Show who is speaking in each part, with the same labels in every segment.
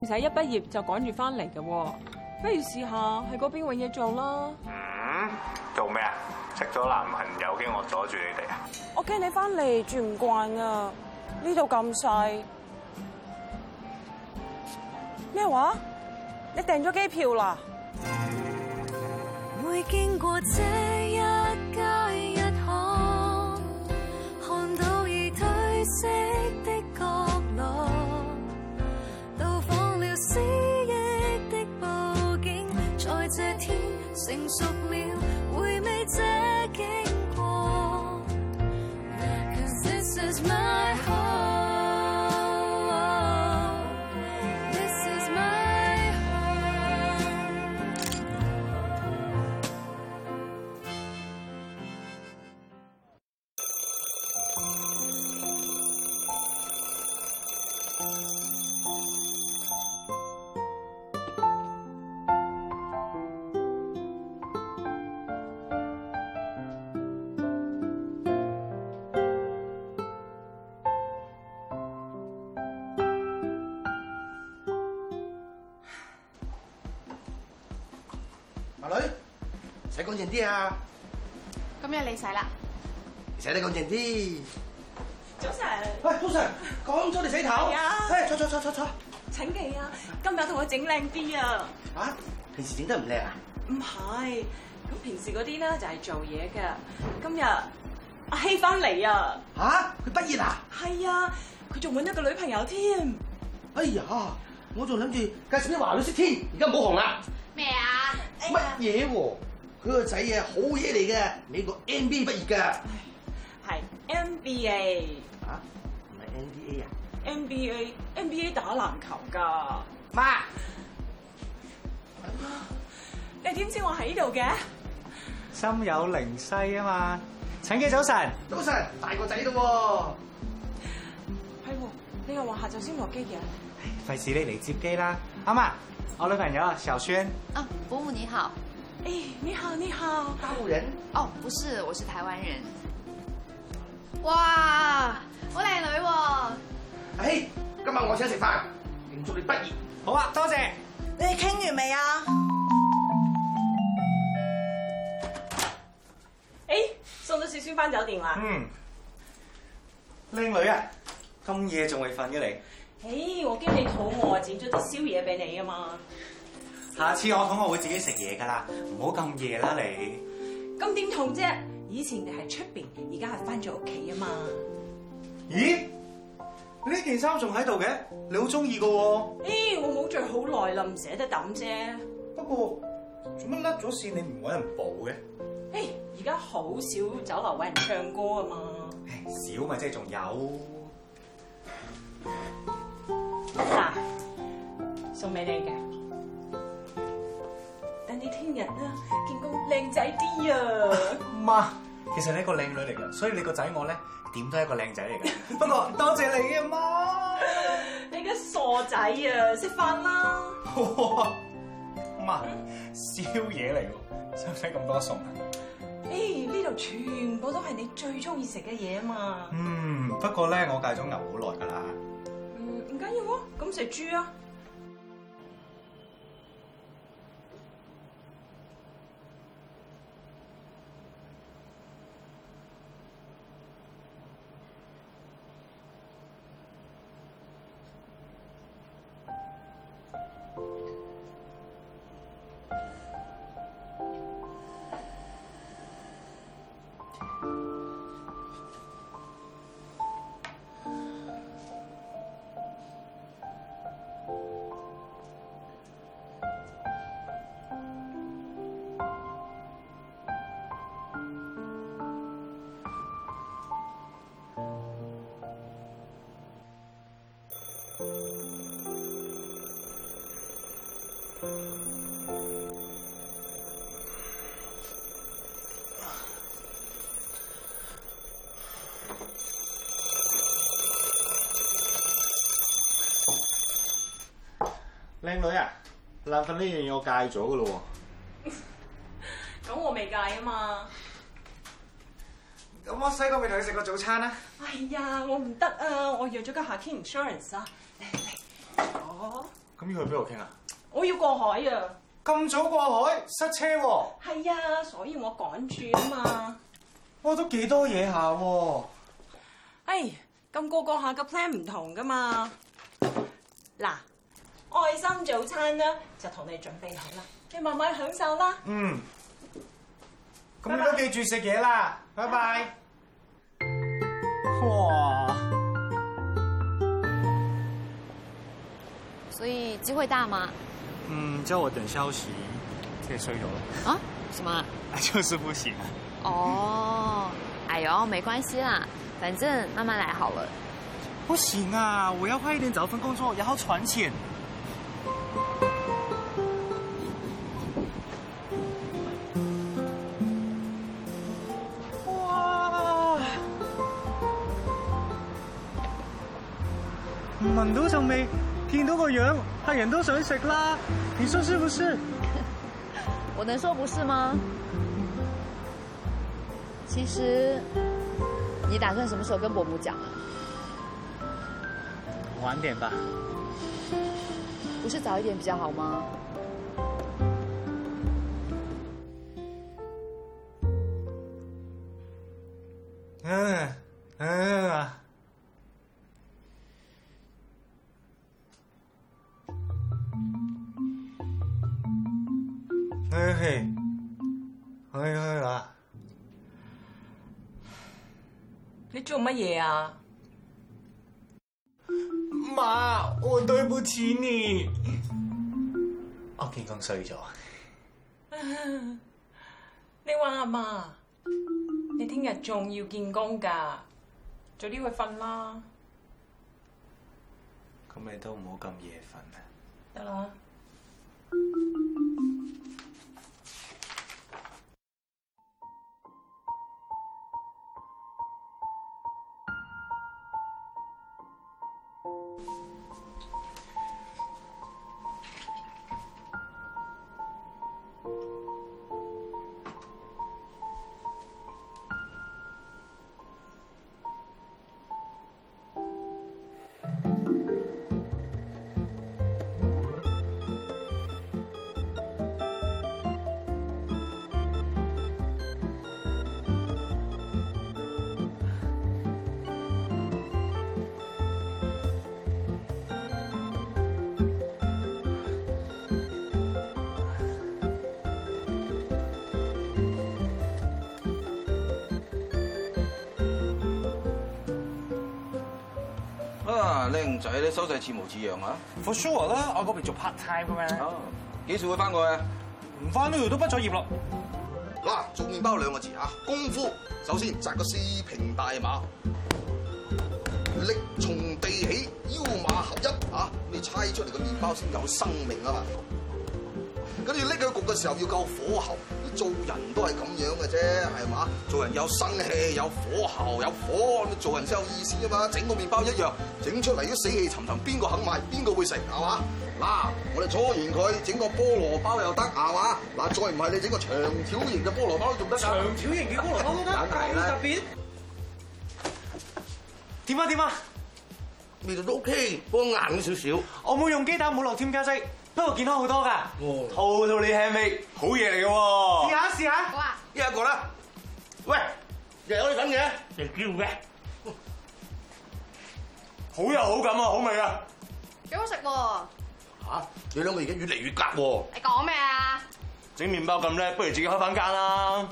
Speaker 1: 唔使一畢業就趕住翻嚟嘅喎，不如試下喺嗰邊揾嘢做啦。
Speaker 2: 做咩啊？識咗男朋友驚我阻住你哋啊？
Speaker 1: 我驚你翻嚟住唔慣啊！呢度咁細。咩話？你訂咗機票啦？
Speaker 3: 會經過這一街一巷，看到已褪色的角落，到訪了失憶的佈景，在這天成熟了，回味這經過。'Cause this is my home.
Speaker 4: 阿女，洗乾淨啲啊！
Speaker 5: 今日你洗啦，
Speaker 4: 洗得乾淨啲。
Speaker 1: 早晨。
Speaker 4: 喂，早晨，講咗你洗頭。
Speaker 1: 係啊。
Speaker 4: 坐。
Speaker 1: 請記啊，今日同我整靚啲啊！
Speaker 4: 啊？平時整得唔靚啊？
Speaker 1: 唔係，咁平時嗰啲咧就係做嘢嘅。今日阿希翻嚟啊！
Speaker 4: 嚇？佢畢業啊？
Speaker 1: 係啊，佢仲揾咗個女朋友添。
Speaker 4: 哎呀，我仲諗住介紹啲華女識添，而家冇紅啦。
Speaker 5: 咩啊？
Speaker 4: 乜嘢喎？佢個仔啊，好嘢嚟嘅，美國 NBA 畢業㗎。
Speaker 1: 係 NBA。
Speaker 4: 啊？唔係 NBA 啊
Speaker 1: NBA 打籃球㗎。
Speaker 4: 媽，
Speaker 1: 你點知我喺度嘅？
Speaker 6: 心有靈犀啊嘛！請記早晨。
Speaker 4: 早晨，大個仔咯
Speaker 1: 係喎，你又話下晝先落機嘅。
Speaker 6: 費事你嚟接機啦，阿媽，我女朋友啊，小萱。
Speaker 5: 啊，伯母你好。
Speaker 1: 誒，你好，你好。
Speaker 4: 喎。大陸人。
Speaker 5: 哦，不是，我是台灣人。哇，好靚女喎。
Speaker 4: 哎，今晚我請食飯，慶祝你畢業。
Speaker 6: 好啊，多謝。
Speaker 7: 你哋傾完未啊？
Speaker 1: 誒，送咗小萱翻酒店啦。
Speaker 6: 靚女啊，咁夜仲未瞓嘅你？
Speaker 1: 我驚你肚餓啊，剪咗啲宵夜俾你啊嘛。
Speaker 6: 下次我肚餓會自己食嘢㗎啦，唔好咁夜啦你。
Speaker 1: 咁點同啫？以前你喺出邊，而家係翻咗屋企啊嘛。
Speaker 6: 咦？呢件衫仲喺度嘅，你好中意㗎喎。
Speaker 1: 我冇着好耐啦，唔捨得抌啫。
Speaker 6: 不過做乜甩咗線？你唔揾人補嘅？
Speaker 1: 而家好少酒樓揾人唱歌啊嘛。
Speaker 6: 少咪即係仲有。
Speaker 1: 嗱，送俾你嘅，等你聽日啦見到靚仔啲啊！
Speaker 6: 媽，其實你係個靚女嚟㗎，所以你個仔我咧點都係一個靚仔嚟㗎。不過多謝你啊，媽！
Speaker 1: 你個傻仔啊，食飯啦！
Speaker 6: 媽，宵夜嚟喎，使唔使咁多餸啊？
Speaker 1: 呢度全部都係你最中意食嘅嘢啊嘛。
Speaker 6: 不過咧我戒咗牛好耐㗎啦。
Speaker 1: 唔緊要喎，咁食豬啊！
Speaker 8: 靚女啊，爛瞓呢樣嘢我戒咗噶咯喎。
Speaker 1: 咁我未戒啊嘛。
Speaker 6: 咁我洗個面同你食個早餐啦。
Speaker 1: 哎呀，我唔得啊，我約咗個夏天 insurance 啊。嚟，
Speaker 6: 咁要去邊度傾啊？
Speaker 1: 我要過海啊！
Speaker 6: 咁早過海，塞車喎。
Speaker 1: 係啊，所以我趕住啊嘛。
Speaker 6: 哇，都幾多嘢下喎。
Speaker 1: 哎，咁個下嘅 plan 唔同噶嘛。嗱，愛心早餐啦，就同你準備好啦，你慢慢享受啦。
Speaker 6: 嗯。咁你都記住食嘢啦，拜拜。哇！
Speaker 5: 所以機會大嗎？
Speaker 6: 叫我等消息，這衰咗了。
Speaker 5: 啊？什麼？
Speaker 6: 就是不行。
Speaker 5: 哦，哎呦，沒關係啦，反正慢慢來好了。
Speaker 6: 不行啊，我要快一點找份工作，然後存錢。哇！聞到陣味，見到個樣，客人都想食啦。你說是不是？
Speaker 5: 我能說不是嗎？其實，你打算什麼時候跟伯母講啊？
Speaker 6: 晚點吧。
Speaker 5: 不是早一點比較好嗎？
Speaker 6: 去啦！
Speaker 1: 你做乜嘢啊？
Speaker 6: 媽，我對不起你。我見工衰咗。
Speaker 1: 你話阿媽，你聽日仲要見工㗎，早啲去瞓啦。
Speaker 6: 咁你都唔好咁夜瞓啊！
Speaker 1: 得啦。
Speaker 4: 靚仔咧，收勢似模似樣啊
Speaker 6: For sure 啦，我嗰邊做 part time 嘅咩？
Speaker 4: 哦，幾時會翻過去？
Speaker 6: 唔翻呢度都畢咗業咯。
Speaker 4: 嗱，做麵包兩個字啊，功夫。首先紮個四平大馬，力從地起，腰馬合一啊！你猜出嚟個麵包先有生命啊嘛。跟住拎佢焗嘅時候要夠火候。做人都係咁樣嘅啫，係嘛？做人有生氣，有火候，有火，做人先有意思啊嘛！整個麵包一樣，整出嚟都死氣沉沉，邊個肯買？邊個會食？係嘛？嗱，我哋搓完佢，整個菠蘿包又得，係嘛？嗱，再唔係你整個長條形嘅菠蘿包都仲得。長條形嘅菠蘿包都得，咁特別。
Speaker 6: 點啊？
Speaker 4: 味道都 OK，不過硬少少。
Speaker 6: 我冇用雞蛋，冇落添加劑。不過健康好多㗎，套你輕味，好嘢嚟嘅喎。試下。
Speaker 5: 好啊，
Speaker 4: 一個啦。喂，又有你份嘅，你叫嘅。
Speaker 6: 好有好感啊，好味啊。
Speaker 5: 幾好食喎。
Speaker 4: 嚇，你兩個而家越嚟越夾喎。
Speaker 5: 你講咩啊？
Speaker 6: 整麵包咁叻，不如自己開翻間啦。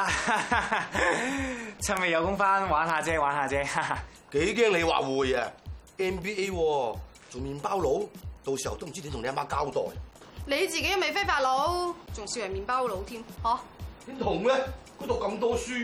Speaker 6: 趁未有工翻，玩下啫。
Speaker 4: 幾驚你話會啊 ？NBA 喎，做麵包佬。到時候都唔知點同你阿媽交代。
Speaker 5: 你自己又未非法佬，仲笑人麵包佬添，嚇？
Speaker 4: 點同咧？嗰度咁多書。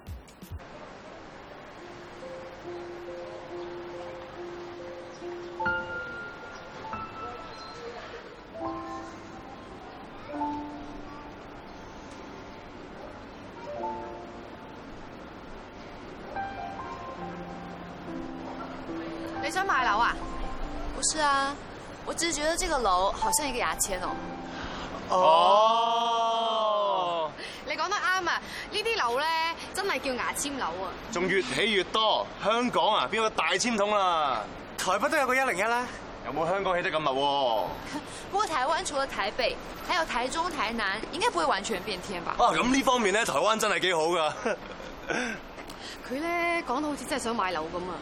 Speaker 5: 你想買樓啊？不是啊。我只是覺得這個樓好像一個牙籤哦。你講得啱啊！呢啲樓咧真係叫牙籤樓啊！
Speaker 7: 仲越起越多，香港啊邊有個大籤筒啊？
Speaker 6: 台北都有個101啦。
Speaker 7: 有冇香港起得咁密喎？
Speaker 5: 不過台灣除了台北，還有台中、台南，應該不會完全變天吧？
Speaker 7: 啊，咁呢方面咧，台灣真係幾好㗎。
Speaker 5: 佢咧講到好似真係想買樓咁啊！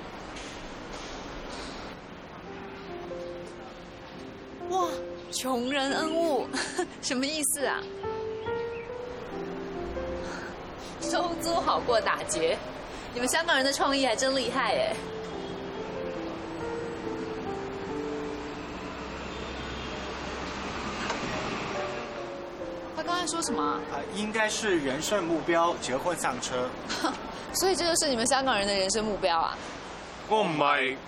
Speaker 5: 哇，窮人恩物，什麼意思啊？收租好過打劫，你們香港人的創意還真厲害耶！他剛才說什麼啊？
Speaker 6: 應該是人生目標，結婚上車。
Speaker 5: 所以這就是你們香港人的人生目標啊？
Speaker 7: 我唔係。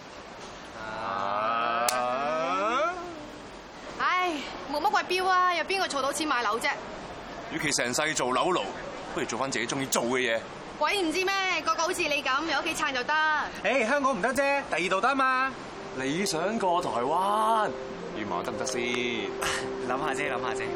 Speaker 5: 唉，冇乜鬼標啊！有邊個儲到錢買樓啫？
Speaker 7: 與其成世做樓奴，不如做翻自己中意做嘅嘢。
Speaker 5: 鬼唔知咩？個個好似你咁，有屋企撐就得。
Speaker 6: 誒，香港唔得啫，第二度得嘛。
Speaker 7: 你想過台灣，願望得唔得先？
Speaker 6: 諗下啫，諗下啫。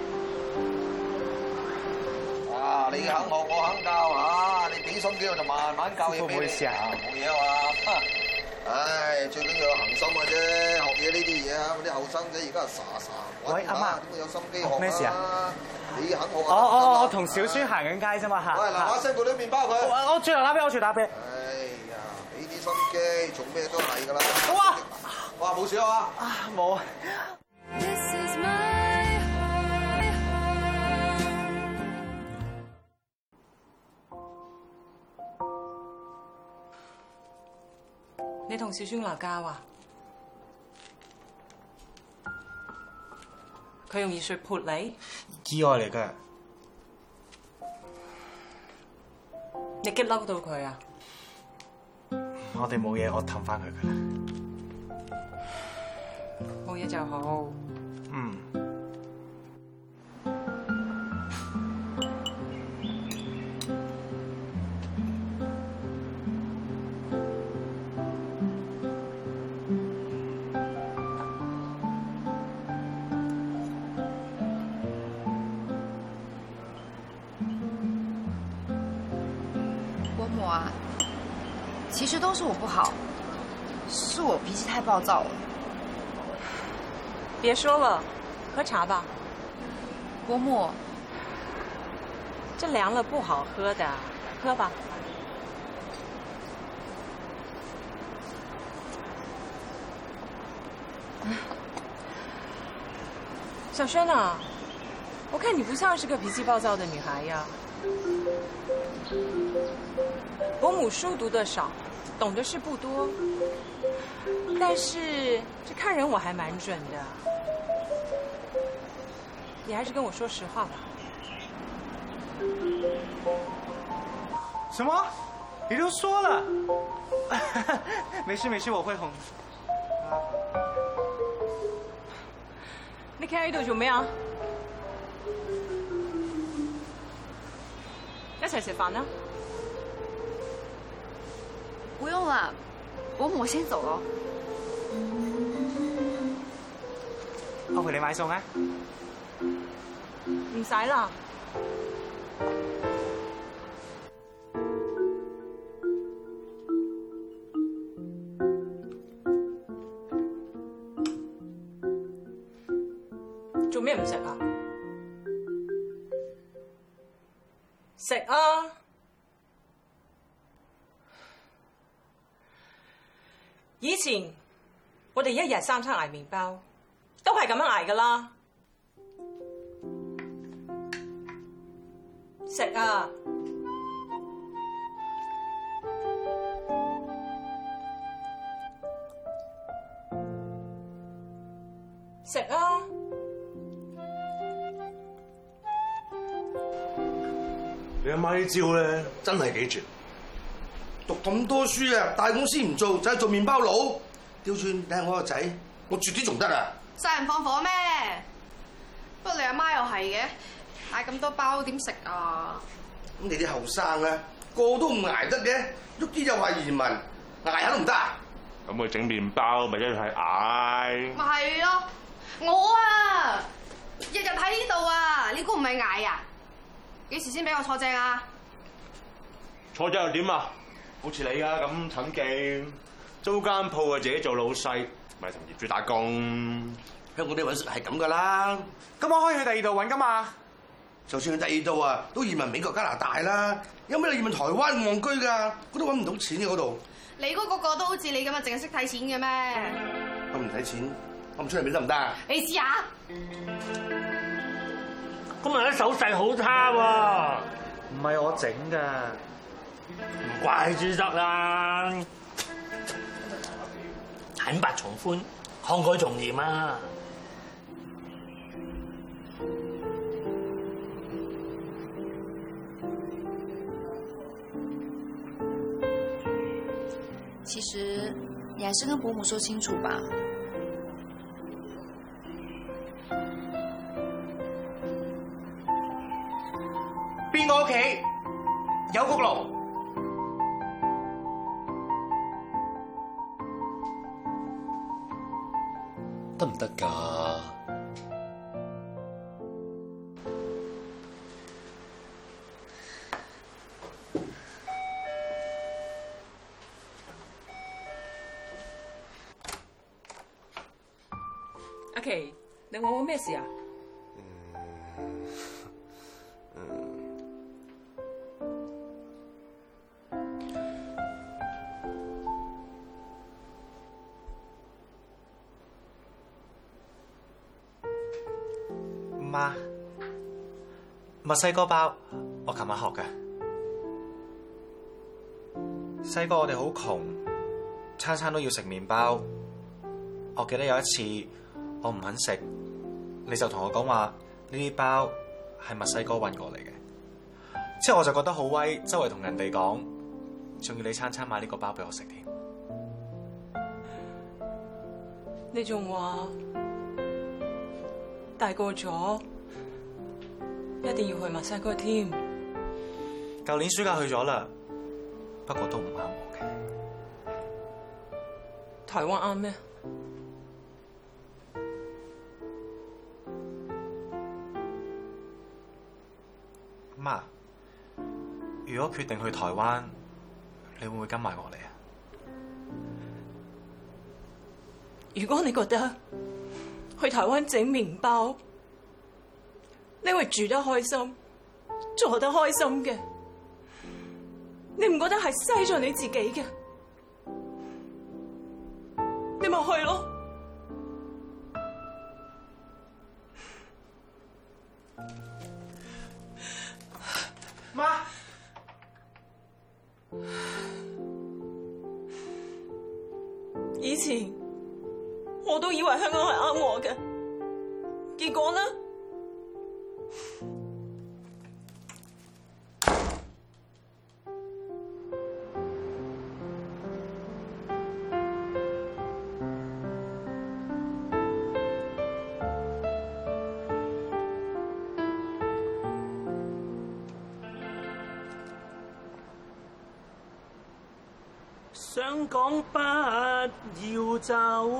Speaker 4: 啊，你肯學我肯教啊！你俾心機我就慢慢教嘢俾你。唔好意思啊，冇嘢啊嘛。唉，最緊要有恒心嘅啫，學嘢呢啲嘢啊，啲後生仔而家係傻。
Speaker 6: 喂，阿媽，
Speaker 4: 點會有心機學啊？
Speaker 6: 咩事啊？
Speaker 4: 你肯學啊？
Speaker 6: 我同小孫行緊街啫嘛嚇。
Speaker 4: 喂，嗱，把聲嗰啲麵包佢。
Speaker 6: 我轉頭打俾我，
Speaker 4: 哎呀，俾啲心機，做咩都係㗎啦。
Speaker 6: 哇！
Speaker 4: 哇，冇事啊嘛？
Speaker 6: 冇。
Speaker 1: 你同小孫鬧交啊？佢用熱水潑你？
Speaker 6: 意外嚟㗎。
Speaker 1: 你激嬲到佢啊？
Speaker 6: 我哋冇嘢，我氹翻佢㗎啦。
Speaker 1: 冇嘢就好。
Speaker 6: 嗯。
Speaker 5: 其實都是我不好，是我脾氣太暴躁了。
Speaker 1: 別說了，喝茶吧。
Speaker 5: 伯母，
Speaker 1: 這涼了不好喝的，喝吧。小軒啊，我看你不像是個脾氣暴躁的女孩呀。伯母書讀得少，懂的事不多，但是這看人我還蠻準的。你還是跟我說實話吧。
Speaker 6: 什麼？你都說了？沒事沒事，我會哄。
Speaker 1: 你企喺度做咩啊？一齊食飯啦。
Speaker 5: 不用了，伯母，我先走了。
Speaker 6: 我陪你買餸啊。
Speaker 1: 唔使啦。做咩唔食啊？食啊！以前我哋一日三餐捱麵包，都係咁樣捱噶啦。食啊！食啊！
Speaker 7: 你阿媽啲招咧，真係幾絕。
Speaker 4: 讀咁多書啊，大公司唔做，就係做麵包佬。調轉你睇我個仔，我絕啲仲得啊！
Speaker 5: 殺人放火咩？不過你阿媽又係嘅，嗌咁多包點食啊？
Speaker 4: 咁你啲後生啊，個個都唔捱得嘅，喐啲又話移民，捱下都唔得。
Speaker 2: 咁佢整麵包咪一樣係捱？
Speaker 5: 咪係咯，我啊日日喺呢度啊，你估唔係捱啊？幾時先俾我坐正啊？
Speaker 7: 坐正又點啊？好似你啊咁蠢勁，租間鋪啊自己做老細， 咪同業主打工。
Speaker 4: 香港啲揾食係咁噶啦。
Speaker 6: 咁我可以去第二度揾噶嘛？
Speaker 4: 就算去第二度啊，都移民美國加拿大啦。有咩你移民台灣戇居㗎？嗰度揾唔到錢嘅嗰度。
Speaker 5: 你嗰個都好似你咁啊，淨係識睇錢嘅咩？
Speaker 4: 我唔睇錢，我唔出嚟俾得唔得啊？
Speaker 5: 你試下。
Speaker 9: 今日啲手勢好差喎。
Speaker 6: 唔係我整㗎，
Speaker 9: 唔怪之得啦。坦白從寬，慷慨從嚴啊！
Speaker 10: 其實你還是跟伯母說清楚吧。
Speaker 6: 邊個屋企有焗爐？
Speaker 7: 得唔得㗎？
Speaker 1: 阿琪，你揾我咩事啊？
Speaker 6: 媽，墨西哥包我琴日學嘅。細個我哋好窮，餐餐都要食麵包。我記得有一次我唔肯食，你就同我講話呢啲包係墨西哥運過嚟嘅。之後我就覺得好威，周圍同人哋講，仲要你餐餐買呢個包俾我食添。
Speaker 1: 你仲話大個咗一定要去墨西哥添？
Speaker 6: 舊年暑假去咗啦，不過都唔啱我嘅。
Speaker 1: 台灣啱咩？
Speaker 6: 媽，如果決定去台灣，你會唔會跟埋我嚟啊？
Speaker 1: 如果你覺得去台灣整麵包，你會住得開心，做得開心嘅，你唔覺得係嘥咗你自己嘅，你咪去咯。
Speaker 6: 媽，
Speaker 1: 以前我都以為香港係啱我嘅，結果呢？
Speaker 9: 想講不要走，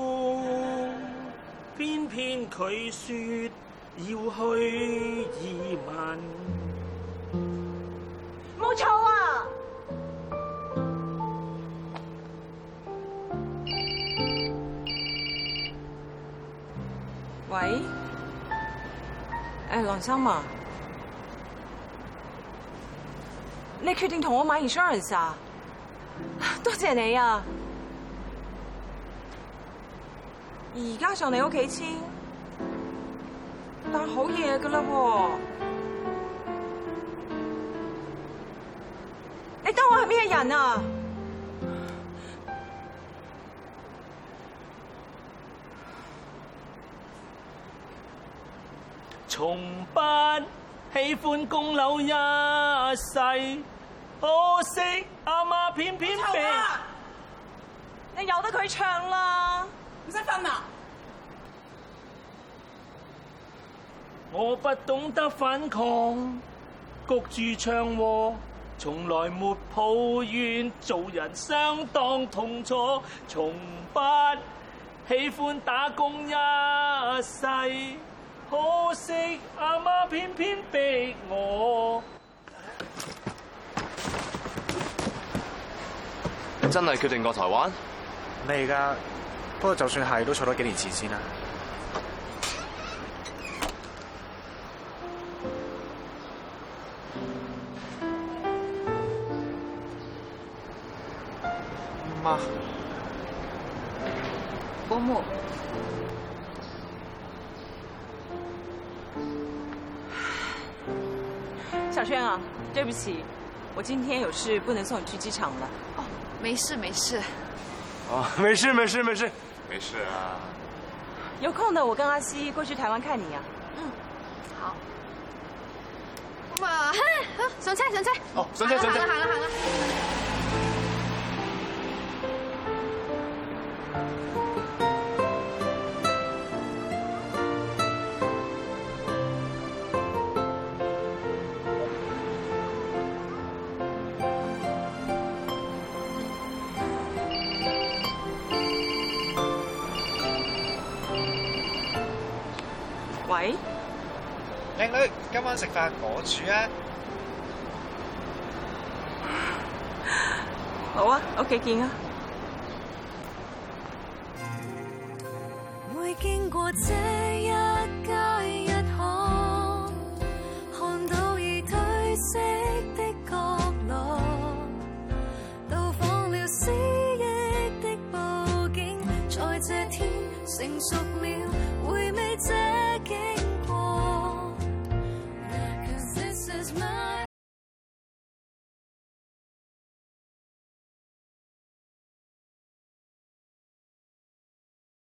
Speaker 9: 偏偏佢說要去移民。
Speaker 1: 冇錯啊！喂，梁生啊，你決定同我買 insurance 啊？多謝你啊！而家上你屋企簽，但好夜噶啦喎！你當我係咩人啊？
Speaker 9: 從不喜歡供樓一世。可惜阿媽偏偏被
Speaker 1: 你由得佢唱啦，唔使瞓啦。
Speaker 9: 我不懂得反抗，焗住唱和，從來沒抱怨，做人相當痛楚，從不喜歡打工一世，可惜阿媽偏偏逼我。
Speaker 7: 真係決定過台灣？
Speaker 6: 未㗎， 過就算係都儲多幾年錢先啦。媽，
Speaker 10: 伯母，
Speaker 1: 小轩啊，对不起，我今天有事不能送你去机场了。
Speaker 10: 哦，没事没事。
Speaker 7: 哦，没事没事没事没事啊。
Speaker 1: 有空的我跟阿西过去台湾看你啊。
Speaker 10: 嗯，好。
Speaker 5: 咁啊，上車上車。
Speaker 7: 哦，上車上車。
Speaker 5: 行啦。
Speaker 1: 喂，
Speaker 6: 靚女，今晚食飯我煮啊！
Speaker 1: 好啊，屋企見啊！
Speaker 3: 會經過這